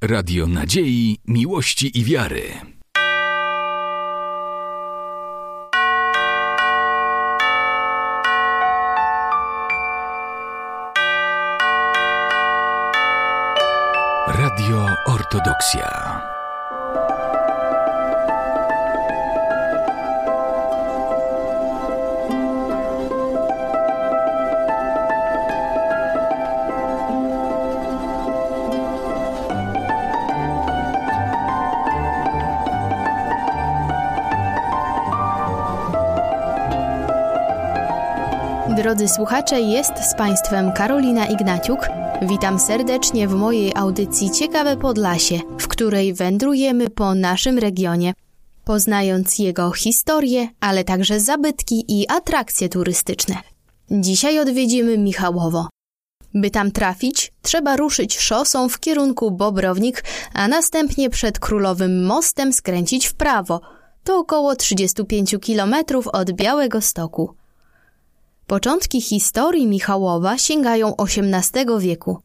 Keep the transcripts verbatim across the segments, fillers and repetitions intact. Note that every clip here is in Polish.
Radio nadziei, miłości i wiary. Radio Ortodoksja. Drodzy słuchacze, jest z Państwem Karolina Ignaciuk. Witam serdecznie w mojej audycji Ciekawe Podlasie, w której wędrujemy po naszym regionie, poznając jego historię, ale także zabytki i atrakcje turystyczne. Dzisiaj odwiedzimy Michałowo. By tam trafić, trzeba ruszyć szosą w kierunku Bobrownik, a następnie przed Królowym Mostem skręcić w prawo. To około trzydzieści pięć kilometrów od Białegostoku. Początki historii Michałowa sięgają osiemnastego wieku.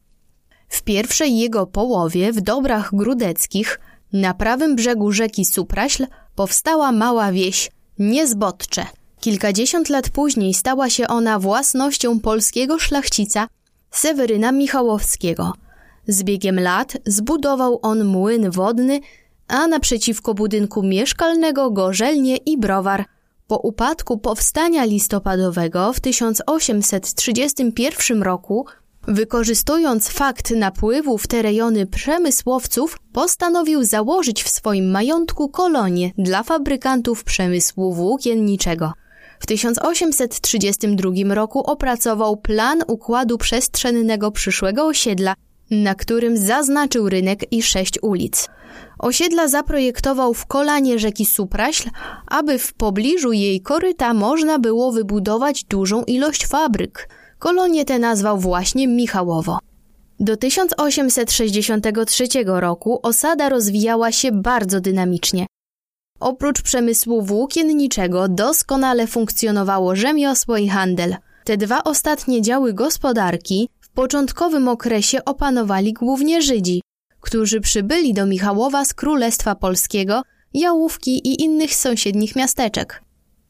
W pierwszej jego połowie w Dobrach Grudeckich, na prawym brzegu rzeki Supraśl, powstała mała wieś Niezbodcze. Kilkadziesiąt lat później stała się ona własnością polskiego szlachcica Seweryna Michałowskiego. Z biegiem lat zbudował on młyn wodny, a naprzeciwko budynku mieszkalnego gorzelnię i browar. Po upadku powstania listopadowego w tysiąc osiemset trzydziestym pierwszym roku, wykorzystując fakt napływu w te rejony przemysłowców, postanowił założyć w swoim majątku kolonię dla fabrykantów przemysłu włókienniczego. W tysiąc osiemset trzydziestym drugim roku opracował plan układu przestrzennego przyszłego osiedla, na którym zaznaczył rynek i sześć ulic. Osiedla zaprojektował w kolanie rzeki Supraśl, aby w pobliżu jej koryta można było wybudować dużą ilość fabryk. Kolonię tę nazwał właśnie Michałowo. Do tysiąc osiemset sześćdziesiątego trzeciego roku osada rozwijała się bardzo dynamicznie. Oprócz przemysłu włókienniczego doskonale funkcjonowało rzemiosło i handel. Te dwa ostatnie działy gospodarki w początkowym okresie opanowali głównie Żydzi, którzy przybyli do Michałowa z Królestwa Polskiego, Jałówki i innych sąsiednich miasteczek.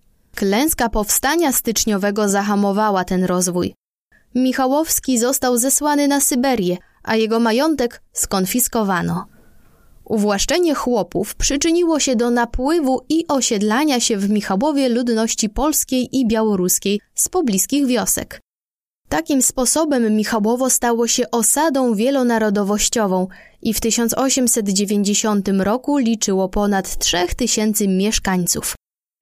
Klęska powstania styczniowego zahamowała ten rozwój. Michałowski został zesłany na Syberię, a jego majątek skonfiskowano. Uwłaszczenie chłopów przyczyniło się do napływu i osiedlania się w Michałowie ludności polskiej i białoruskiej z pobliskich wiosek. Takim sposobem Michałowo stało się osadą wielonarodowościową i w tysiąc osiemset dziewięćdziesiątym roku liczyło ponad trzech tysięcy mieszkańców.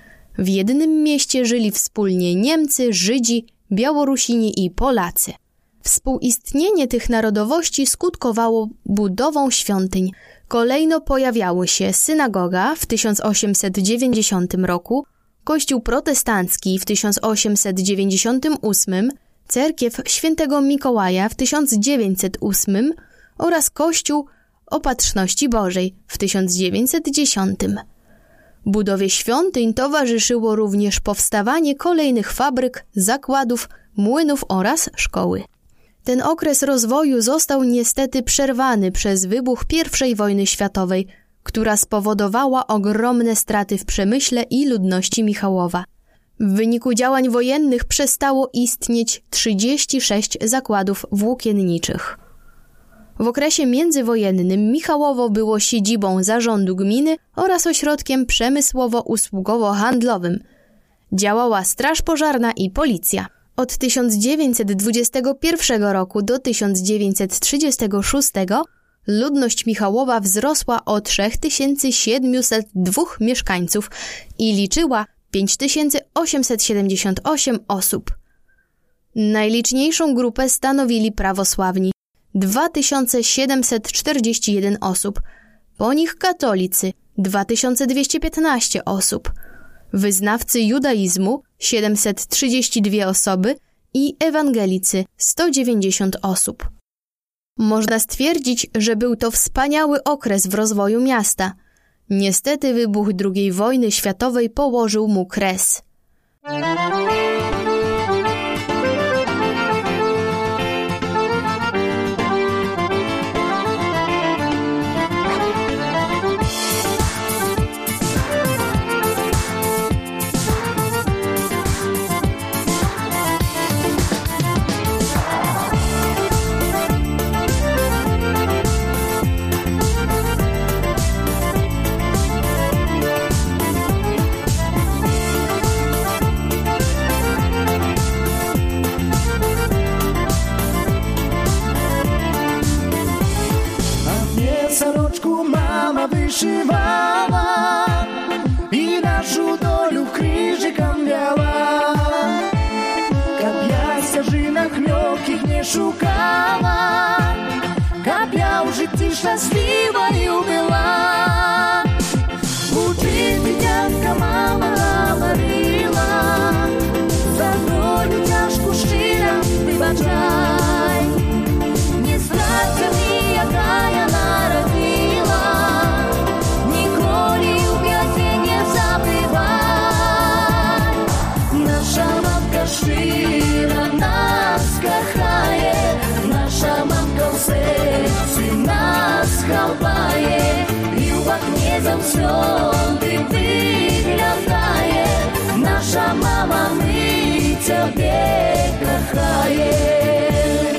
W jednym mieście żyli wspólnie Niemcy, Żydzi, Białorusini i Polacy. Współistnienie tych narodowości skutkowało budową świątyń. Kolejno pojawiały się synagoga w tysiąc osiemset dziewięćdziesiątym roku, kościół protestancki w tysiąc osiemset dziewięćdziesiątym ósmym, cerkiew świętego Mikołaja w tysiąc dziewięćset ósmym oraz kościół Opatrzności Bożej w tysiąc dziewięćset dziesiątym. Budowie świątyń towarzyszyło również powstawanie kolejnych fabryk, zakładów, młynów oraz szkoły. Ten okres rozwoju został niestety przerwany przez wybuch pierwszej wojny światowej, która spowodowała ogromne straty w przemyśle i ludności Michałowa. W wyniku działań wojennych przestało istnieć trzydzieści sześć zakładów włókienniczych. W okresie międzywojennym Michałowo było siedzibą zarządu gminy oraz ośrodkiem przemysłowo-usługowo-handlowym. Działała straż pożarna i policja. Od tysiąc dziewięćset dwudziestego pierwszego roku do tysiąc dziewięćset trzydziestego szóstego ludność Michałowa wzrosła o trzy tysiące siedemset dwóch mieszkańców i liczyła pięć tysięcy osiemset siedemdziesiąt osiem osób. Najliczniejszą grupę stanowili prawosławni – dwa tysiące siedemset czterdzieści jeden osób, po nich katolicy – dwa tysiące dwieście piętnaście osób, wyznawcy judaizmu – siedemset trzydzieści dwie osoby i ewangelicy – sto dziewięćdziesiąt osób. Można stwierdzić, że był to wspaniały okres w rozwoju miasta. Niestety wybuch drugiej wojny światowej położył mu kres. soroczku mama wyszywała i naszą dolю krzyżykiem miała. Kab ja starzynach miokich nie szukała, kab ja w życiu szczęśliwa nie była. Uczyty dziadka mama говорила, за долю тяжку щира вибачай. Не страться мені, яка я народила, ніколи у п'яті не забивай. Наша мамка щира нас кохає, наша мамка в серці нас ховає, і в окні завсьоди виглядає. Наша мама, ми тебе кохаєм.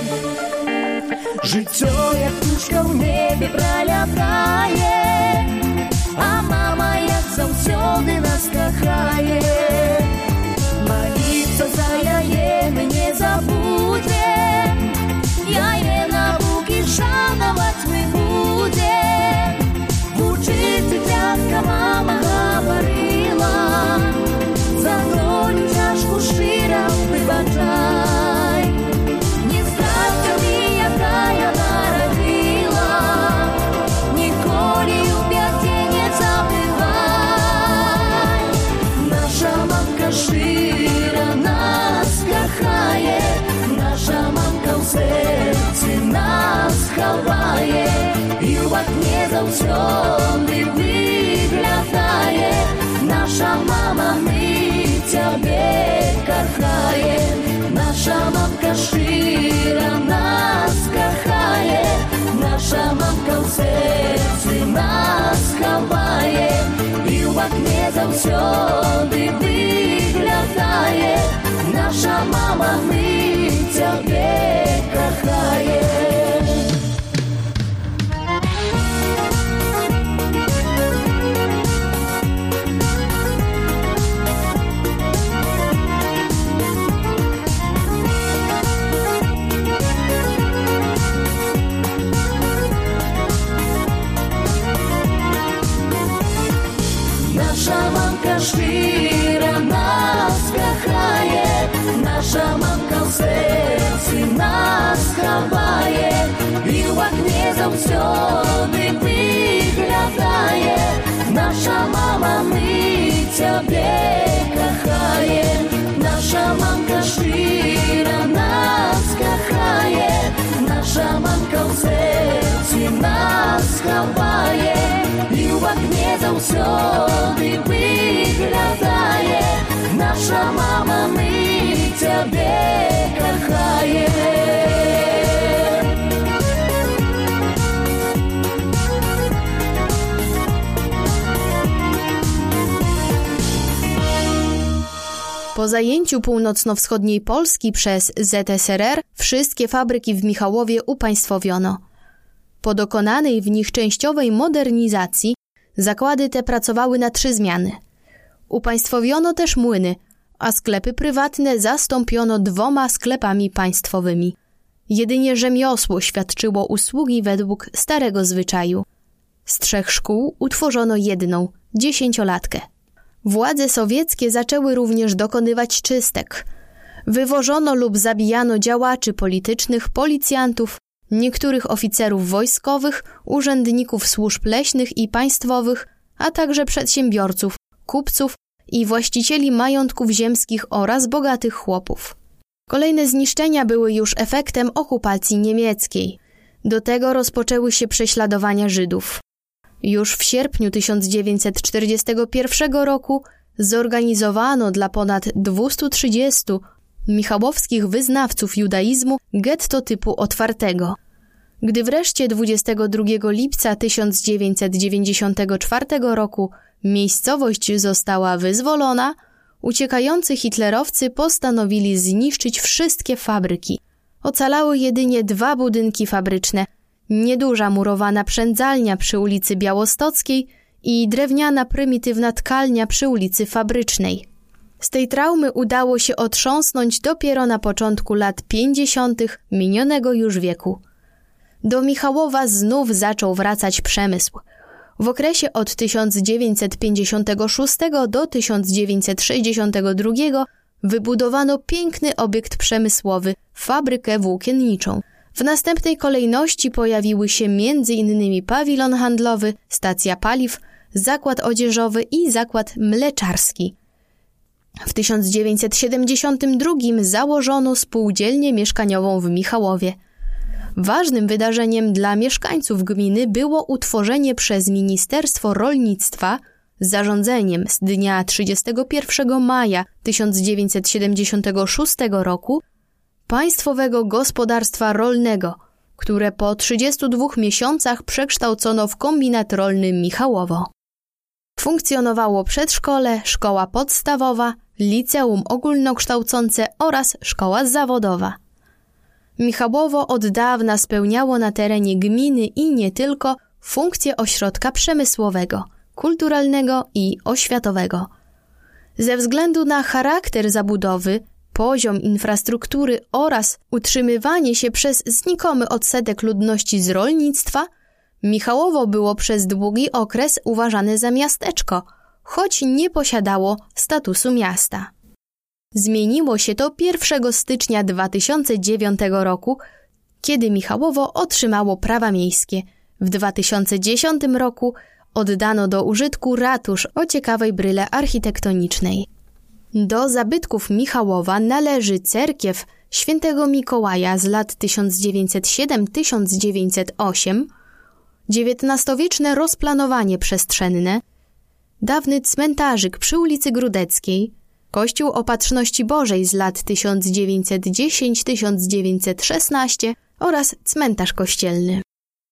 Життя, як птушка в небі пролітає, а мама, як завсьоди нас кохає. Молиться за яє ми не забудем, яє науки шановать ми будем. Вчити дядка мама говорила, за долю тяжку щира вибачай. Не страться мені, яка я народила, ніколи у п'яті не забивай. Наша мамка щира нас кохає, наша мамка в серці нас ховає, і в окні завсьоди виглядає. Наша мама, ми тебе кохаєм. Наша мамка щира нас кохає, наша мамка в серці нас ховає, і в окні завсьоди виглядає. Наша мама, ми тебе кохаєм. Наша мамка щира нас кохає, наша мамка в серці нас ховає, і в окні завсьоди виглядає. Наша мама, ми тебе кохаєм. Наша мамка щира нас кохає, наша мамка в серці нас ховає, і в окні завсьоди виглядає. Наша мама, ми тебе кохаєм. Po zajęciu północno-wschodniej Polski przez Z S R R wszystkie fabryki w Michałowie upaństwowiono. Po dokonanej w nich częściowej modernizacji zakłady te pracowały na trzy zmiany. Upaństwowiono też młyny, a sklepy prywatne zastąpiono dwoma sklepami państwowymi. Jedynie rzemiosło świadczyło usługi według starego zwyczaju. Z trzech szkół utworzono jedną, dziesięciolatkę. Władze sowieckie zaczęły również dokonywać czystek. Wywożono lub zabijano działaczy politycznych, policjantów, niektórych oficerów wojskowych, urzędników służb leśnych i państwowych, a także przedsiębiorców, kupców i właścicieli majątków ziemskich oraz bogatych chłopów. Kolejne zniszczenia były już efektem okupacji niemieckiej. Do tego rozpoczęły się prześladowania Żydów. Już w sierpniu tysiąc dziewięćset czterdziestego pierwszego roku zorganizowano dla ponad dwieście trzydzieści michałowskich wyznawców judaizmu getto typu otwartego. Gdy wreszcie dwudziestego drugiego lipca tysiąc dziewięćset dziewięćdziesiątego czwartego roku miejscowość została wyzwolona, uciekający hitlerowcy postanowili zniszczyć wszystkie fabryki. Ocalały jedynie dwa budynki fabryczne, nieduża murowana przędzalnia przy ulicy Białostockiej i drewniana prymitywna tkalnia przy ulicy Fabrycznej. Z tej traumy udało się otrząsnąć dopiero na początku lat pięćdziesiątych minionego już wieku. Do Michałowa znów zaczął wracać przemysł. W okresie od tysiąc dziewięćset pięćdziesiątego szóstego do tysiąc dziewięćset sześćdziesiątego drugiego wybudowano piękny obiekt przemysłowy, fabrykę włókienniczą. W następnej kolejności pojawiły się między innymi pawilon handlowy, stacja paliw, zakład odzieżowy i zakład mleczarski. W tysiąc dziewięćset siedemdziesiątym drugim założono spółdzielnię mieszkaniową w Michałowie. Ważnym wydarzeniem dla mieszkańców gminy było utworzenie przez Ministerstwo Rolnictwa zarządzeniem z dnia trzydziestego pierwszego maja tysiąc dziewięćset siedemdziesiątego szóstego roku Państwowego Gospodarstwa Rolnego, które po trzydziestu dwóch miesiącach przekształcono w kombinat rolny Michałowo. Funkcjonowało przedszkole, szkoła podstawowa, liceum ogólnokształcące oraz szkoła zawodowa. Michałowo od dawna spełniało na terenie gminy i nie tylko funkcję ośrodka przemysłowego, kulturalnego i oświatowego. Ze względu na charakter zabudowy, poziom infrastruktury oraz utrzymywanie się przez znikomy odsetek ludności z rolnictwa, Michałowo było przez długi okres uważane za miasteczko, choć nie posiadało statusu miasta. Zmieniło się to pierwszego stycznia dwa tysiące dziewiątego roku, kiedy Michałowo otrzymało prawa miejskie. W dwa tysiące dziesiątym roku oddano do użytku ratusz o ciekawej bryle architektonicznej. Do zabytków Michałowa należy cerkiew Świętego Mikołaja z lat tysiąc dziewięćset siódmy do tysiąc dziewięćset ósmego, dziewiętnastowieczne rozplanowanie przestrzenne, dawny cmentarzyk przy ulicy Grudeckiej, Kościół Opatrzności Bożej z lat tysiąc dziewięćset dziesiąty do tysiąc dziewięćset szesnastego oraz cmentarz kościelny.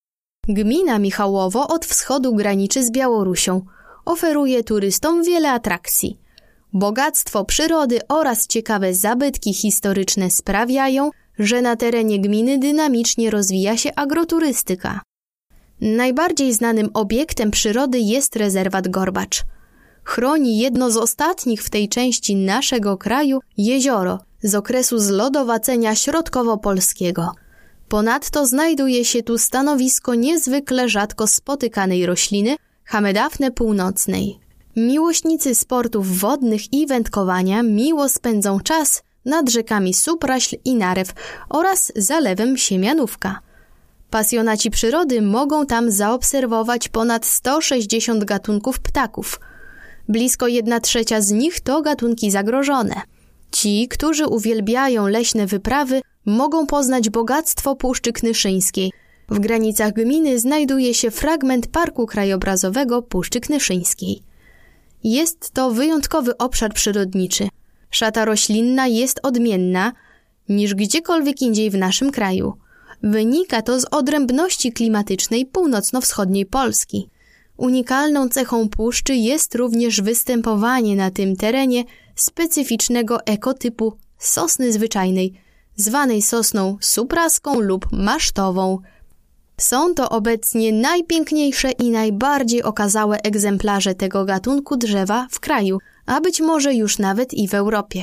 Gmina Michałowo od wschodu graniczy z Białorusią. Oferuje turystom wiele atrakcji. Bogactwo przyrody oraz ciekawe zabytki historyczne sprawiają, że na terenie gminy dynamicznie rozwija się agroturystyka. Najbardziej znanym obiektem przyrody jest rezerwat Gorbacz. Chroni jedno z ostatnich w tej części naszego kraju jezioro z okresu zlodowacenia środkowo-polskiego. Ponadto znajduje się tu stanowisko niezwykle rzadko spotykanej rośliny Hamedafne północnej. Miłośnicy sportów wodnych i wędkowania miło spędzą czas nad rzekami Supraśl i Narew oraz zalewem Siemianówka. Pasjonaci przyrody mogą tam zaobserwować ponad sto sześćdziesiąt gatunków ptaków. Blisko jedna trzecia z nich to gatunki zagrożone. Ci, którzy uwielbiają leśne wyprawy, mogą poznać bogactwo Puszczy Knyszyńskiej. W granicach gminy znajduje się fragment Parku Krajobrazowego Puszczy Knyszyńskiej. Jest to wyjątkowy obszar przyrodniczy. Szata roślinna jest odmienna niż gdziekolwiek indziej w naszym kraju. Wynika to z odrębności klimatycznej północno-wschodniej Polski. Unikalną cechą puszczy jest również występowanie na tym terenie specyficznego ekotypu sosny zwyczajnej, zwanej sosną supraską lub masztową. Są to obecnie najpiękniejsze i najbardziej okazałe egzemplarze tego gatunku drzewa w kraju, a być może już nawet i w Europie.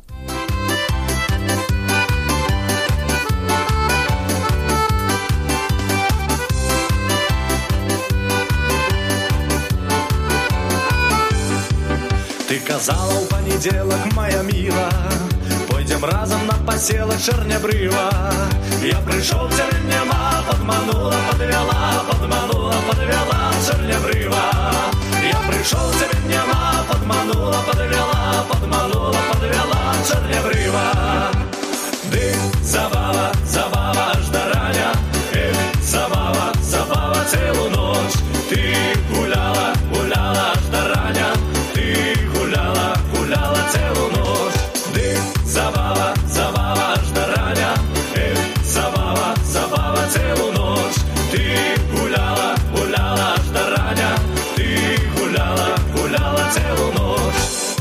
Ты казала у понеделок, моя мила, пойдем разом на поселок Чернябрыва. Я пришел, тебе нема, подманула, подвела, подманула, подвела Чернябрыва. Я пришел, тебе нема, подманула, подвела, подманула, подвела Чернябрыва. Ды, забава, забава, аж до раня, эх, забава, забава целую ночь. Ты гуляла, гуляла аж до раня, ты гуляла, гуляла целую ночь. Ды, забава, забава аж до раня, эх, забава, забава целую ночь. Ты гуляла, гуляла аж до раня, ты гуляла, гуляла целую ночь.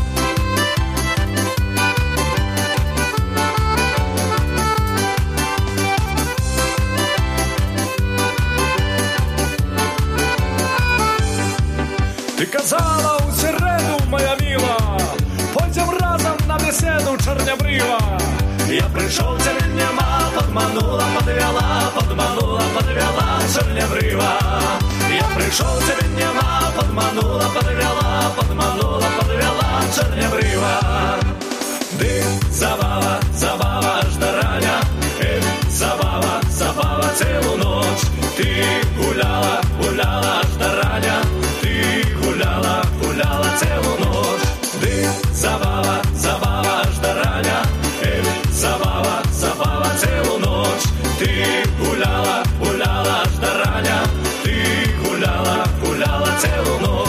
Ты казала у середу, моя мила, пойдем разом на беседу Чернябрыва. Я пришел, тебе нема, подманула, подвела, подманула, подвела, чернобрива. Я пришел, тебе нема, подманула, подвела, подманула, подвела, чернобрива. Ды, забава, забава, аж до раня, эх, забава, забава, целую ночь. Ты гуляла, гуляла, аж до раня, ты гуляла, гуляла целую ночь. Ды, забава, забава, аж до раня, эх, забава, забава, целую ночь. Ты гуляла, гуляла, аж до раня, ты гуляла, гуляла целую ночь.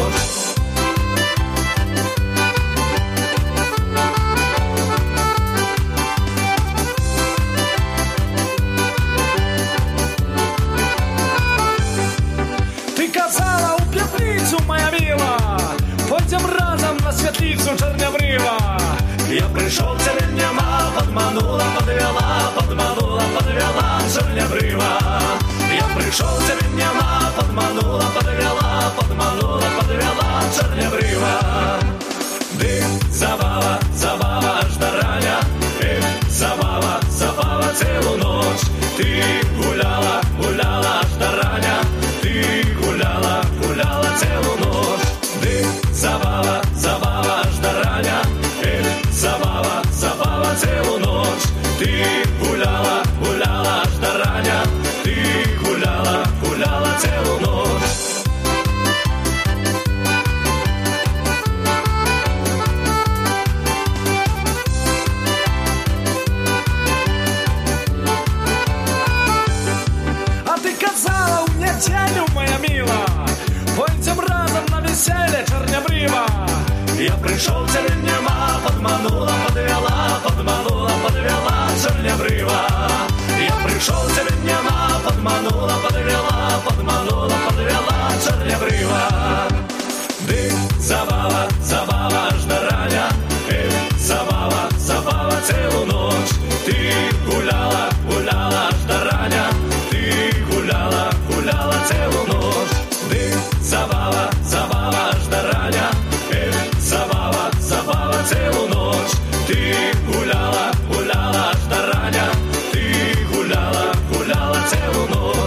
Казала у п'ятницю, моя мила, пойдем разом на светлицу чернобрива. Я пришел, тебе нема, подманула, подвела, подманула, подвела, чернобрива. Я пришел, тебе нема, подманула, подвела, подманула, подвела, чернобрива. Ды, забава, забава, аж до раня, эх, забава, забава, целую ночь. Ты гуляла, гуляла, аж до раня, ты гуляла, гуляла целую ночь. Ды, забава, забава, аж до раня, эх, забава, забава, целую ночь. Ты гуляла, гуляла, аж до раня, ты гуляла, гуляла целую ночь. А ты казала у неделю, моя мила, пойдем разом на веселье чернобрива. Я пришел, тебе нема, подманула, подвела, подманула, подвела, чернобрива. Я пришел, тебе нема, подманула, подвела, подманула, подвела, чернобрива. Ды, забава, забава, аж до раня, эх, забава, забава, целую ночь. Ты гуляла, гуляла, аж до раня, ты гуляла, гуляла целую ночь. Ды, забава, забава, аж до раня, эх, забава, забава, целую ночь. Ты гуляла, гуляла, аж до раня, ты гуляла, гуляла целую ночь.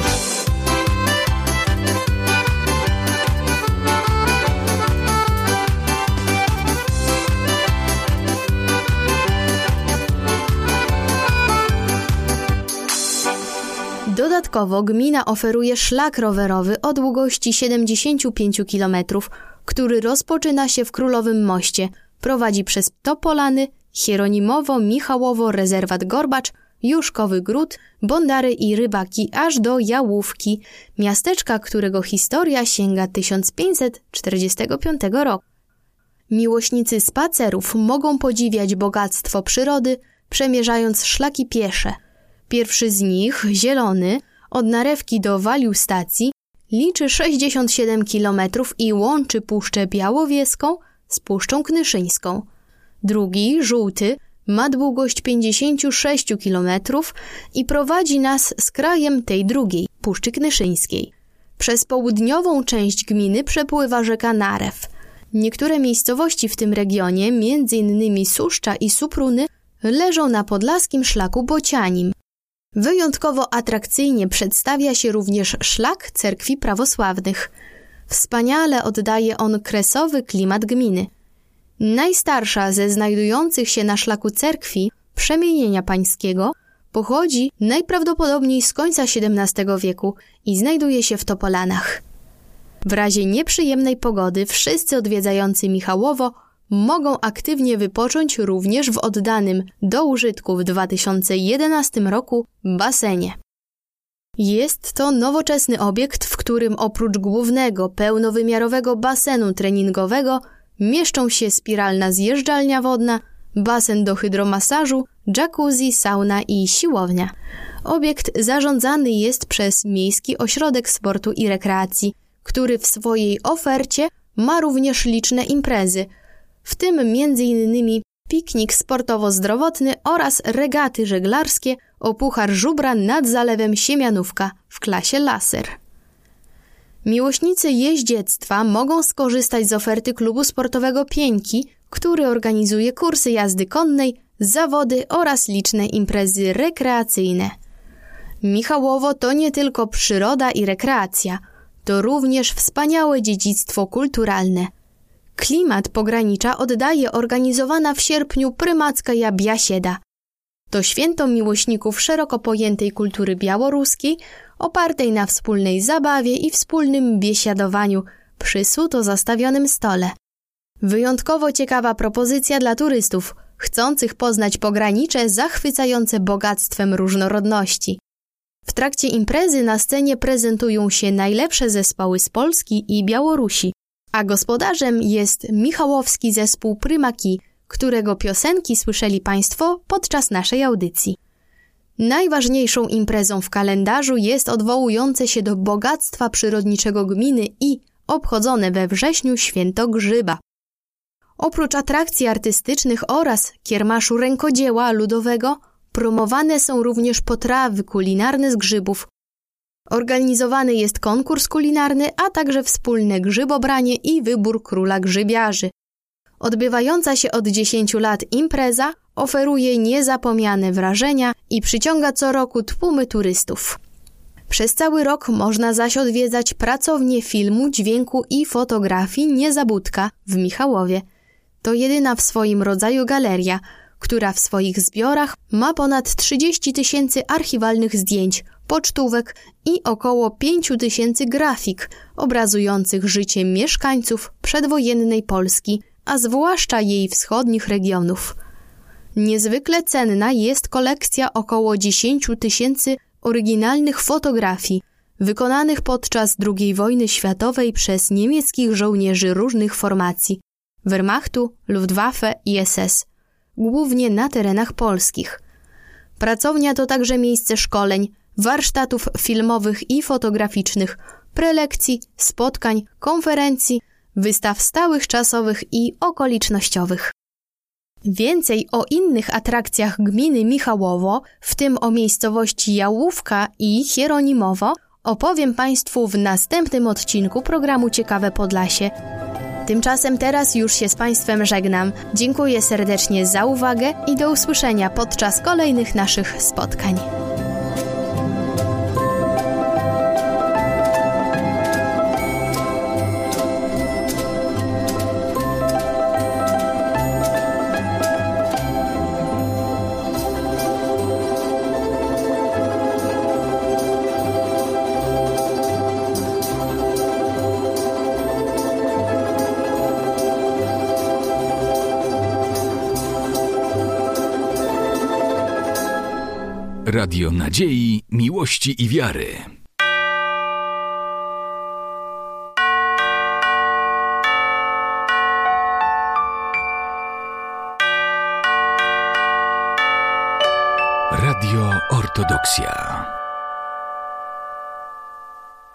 Dodatkowo gmina oferuje szlak rowerowy o długości siedemdziesiąt pięć kilometrów, który rozpoczyna się w Królowym Moście, prowadzi przez Topolany, Hieronimowo, Michałowo, Rezerwat Gorbacz, Juszkowy Gród, Bondary i Rybaki aż do Jałówki, miasteczka, którego historia sięga tysiąc pięćset czterdziestego piątego roku. Miłośnicy spacerów mogą podziwiać bogactwo przyrody, przemierzając szlaki piesze. Pierwszy z nich, zielony, od Narewki do Waliu Stacji, liczy sześćdziesiąt siedem kilometrów i łączy Puszczę Białowieską z Puszczą Knyszyńską. Drugi, żółty, ma długość pięćdziesiąt sześć kilometrów i prowadzi nas z krajem tej drugiej, Puszczy Knyszyńskiej. Przez południową część gminy przepływa rzeka Narew. Niektóre miejscowości w tym regionie, między innymi Suszcza i Supruny, leżą na podlaskim szlaku bocianim. Wyjątkowo atrakcyjnie przedstawia się również szlak cerkwi prawosławnych. Wspaniale oddaje on kresowy klimat gminy. Najstarsza ze znajdujących się na szlaku cerkwi Przemienienia Pańskiego pochodzi najprawdopodobniej z końca siedemnastego wieku i znajduje się w Topolanach. W razie nieprzyjemnej pogody wszyscy odwiedzający Michałowo mogą aktywnie wypocząć również w oddanym do użytku w dwa tysiące jedenastym roku basenie. Jest to nowoczesny obiekt, w którym oprócz głównego, pełnowymiarowego basenu treningowego mieszczą się spiralna zjeżdżalnia wodna, basen do hydromasażu, jacuzzi, sauna i siłownia. Obiekt zarządzany jest przez Miejski Ośrodek Sportu i Rekreacji, który w swojej ofercie ma również liczne imprezy, w tym między innymi piknik sportowo-zdrowotny oraz regaty żeglarskie o Puchar Żubra nad Zalewem Siemianówka w klasie laser. Miłośnicy jeździectwa mogą skorzystać z oferty klubu sportowego Pieńki, który organizuje kursy jazdy konnej, zawody oraz liczne imprezy rekreacyjne. Michałowo to nie tylko przyroda i rekreacja, to również wspaniałe dziedzictwo kulturalne. Klimat pogranicza oddaje organizowana w sierpniu prymacka biasieda. To święto miłośników szeroko pojętej kultury białoruskiej, opartej na wspólnej zabawie i wspólnym biesiadowaniu przy suto zastawionym stole. Wyjątkowo ciekawa propozycja dla turystów, chcących poznać pogranicze zachwycające bogactwem różnorodności. W trakcie imprezy na scenie prezentują się najlepsze zespoły z Polski i Białorusi, a gospodarzem jest michałowski zespół Prymaki, którego piosenki słyszeli Państwo podczas naszej audycji. Najważniejszą imprezą w kalendarzu jest odwołujące się do bogactwa przyrodniczego gminy i obchodzone we wrześniu Święto Grzyba. Oprócz atrakcji artystycznych oraz kiermaszu rękodzieła ludowego, promowane są również potrawy kulinarne z grzybów. Organizowany jest konkurs kulinarny, a także wspólne grzybobranie i wybór króla grzybiarzy. Odbywająca się od dziesięciu lat impreza oferuje niezapomniane wrażenia i przyciąga co roku tłumy turystów. Przez cały rok można zaś odwiedzać pracownię filmu, dźwięku i fotografii Niezabudka w Michałowie. To jedyna w swoim rodzaju galeria, która w swoich zbiorach ma ponad trzydzieści tysięcy archiwalnych zdjęć, pocztówek i około pięć tysięcy grafik obrazujących życie mieszkańców przedwojennej Polski, a zwłaszcza jej wschodnich regionów. Niezwykle cenna jest kolekcja około dziesięć tysięcy oryginalnych fotografii wykonanych podczas drugiej wojny światowej przez niemieckich żołnierzy różnych formacji Wehrmachtu, Luftwaffe i S S, głównie na terenach polskich. Pracownia to także miejsce szkoleń, warsztatów filmowych i fotograficznych, prelekcji, spotkań, konferencji, wystaw stałych, czasowych i okolicznościowych. Więcej o innych atrakcjach gminy Michałowo, w tym o miejscowości Jałówka i Hieronimowo, opowiem Państwu w następnym odcinku programu Ciekawe Podlasie. Tymczasem teraz już się z Państwem żegnam. Dziękuję serdecznie za uwagę i do usłyszenia podczas kolejnych naszych spotkań. Radio Nadziei, Miłości i Wiary. Radio Ortodoksja.